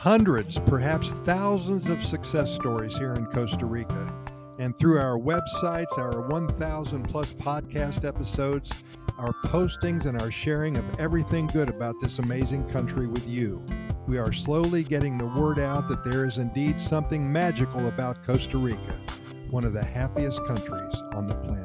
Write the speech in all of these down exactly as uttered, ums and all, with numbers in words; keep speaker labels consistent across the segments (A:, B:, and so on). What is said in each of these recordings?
A: hundreds, perhaps thousands of success stories here in Costa Rica. And through our websites, our one thousand plus podcast episodes, our postings, and our sharing of everything good about this amazing country with you, we are slowly getting the word out that there is indeed something magical about Costa Rica, one of the happiest countries on the planet.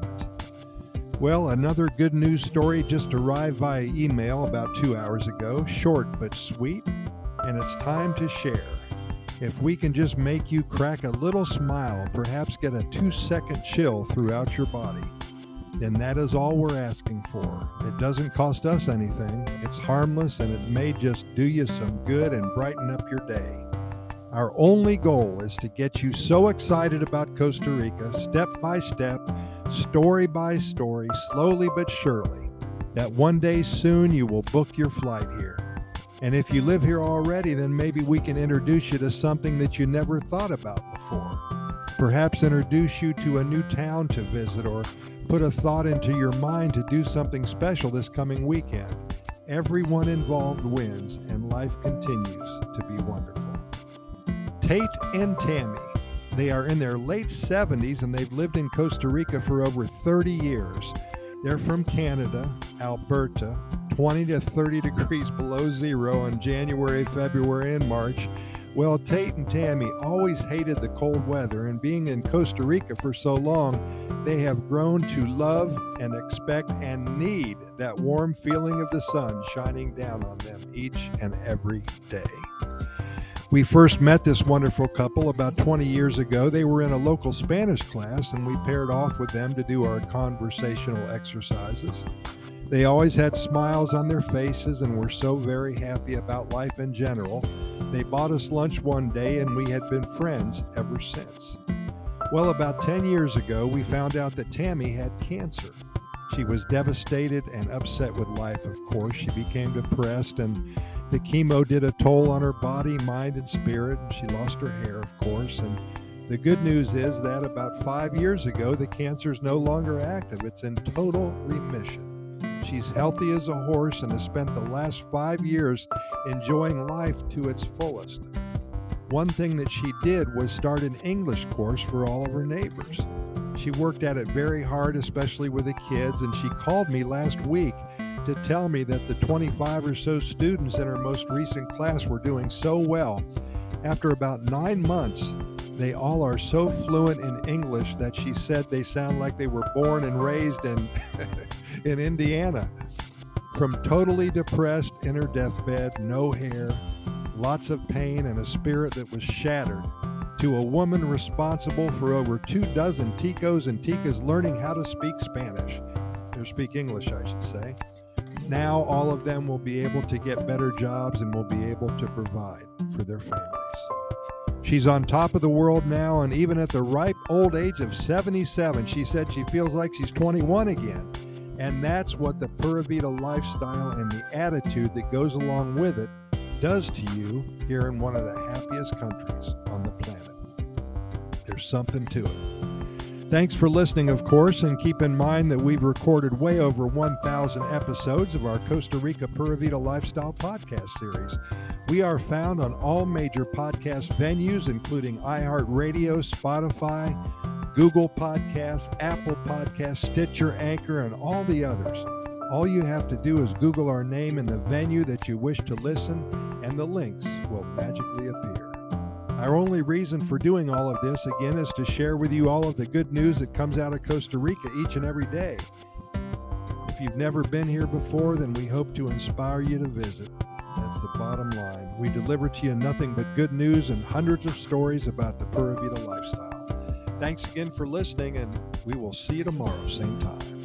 A: Well, another good news story just arrived via email about two hours ago, short but sweet, and it's time to share. If we can just make you crack a little smile, perhaps get a two-second chill throughout your body, then that is all we're asking for. It doesn't cost us anything, it's harmless, and it may just do you some good and brighten up your day. Our only goal is to get you so excited about Costa Rica, step by step, story by story, slowly but surely, that one day soon you will book your flight here. And if you live here already, then maybe we can introduce you to something that you never thought about before. Perhaps introduce you to a new town to visit, or put a thought into your mind to do something special this coming weekend. Everyone involved wins, and life continues to be wonderful. Tate and Tammy. They are in their late seventies and they've lived in Costa Rica for over thirty years. They're from Canada, Alberta, twenty to thirty degrees below zero in January, February, and March. Well, Tate and Tammy always hated the cold weather, and being in Costa Rica for so long, they have grown to love and expect and need that warm feeling of the sun shining down on them each and every day. We first met this wonderful couple about twenty years ago. They were in a local Spanish class, and we paired off with them to do our conversational exercises. They always had smiles on their faces and were so very happy about life in general. They bought us lunch one day, and we had been friends ever since. Well, about ten years ago, we found out that Tammy had cancer. She was devastated and upset with life, of course. She became depressed, and the chemo did a toll on her body, mind, and spirit, and she lost her hair, of course. And the good news is that about five years ago, the cancer is no longer active. It's in total remission. She's healthy as a horse and has spent the last five years enjoying life to its fullest. One thing that she did was start an English course for all of her neighbors. She worked at it very hard, especially with the kids, and she called me last week to tell me that the twenty-five or so students in her most recent class were doing so well. After about nine months, they all are so fluent in English that she said they sound like they were born and raised in, in Indiana. From totally depressed in her deathbed, no hair, lots of pain, and a spirit that was shattered, to a woman responsible for over two dozen ticos and ticas learning how to speak Spanish, or speak English, I should say. Now all of them will be able to get better jobs and will be able to provide for their families. She's on top of the world now, and even at the ripe old age of seventy-seven, she said she feels like she's twenty-one again. And that's what the Pura Vida lifestyle and the attitude that goes along with it does to you here in one of the happiest countries on the planet. There's something to it. Thanks for listening, of course, and keep in mind that we've recorded way over one thousand episodes of our Costa Rica Pura Vida Lifestyle podcast series. We are found on all major podcast venues, including iHeartRadio, Spotify, Google Podcasts, Apple Podcasts, Stitcher, Anchor, and all the others. All you have to do is Google our name and the venue that you wish to listen, and the links will magically appear. Our only reason for doing all of this, again, is to share with you all of the good news that comes out of Costa Rica each and every day. If you've never been here before, then we hope to inspire you to visit. That's the bottom line. We deliver to you nothing but good news and hundreds of stories about the Pura Vida lifestyle. Thanks again for listening, and we will see you tomorrow, same time.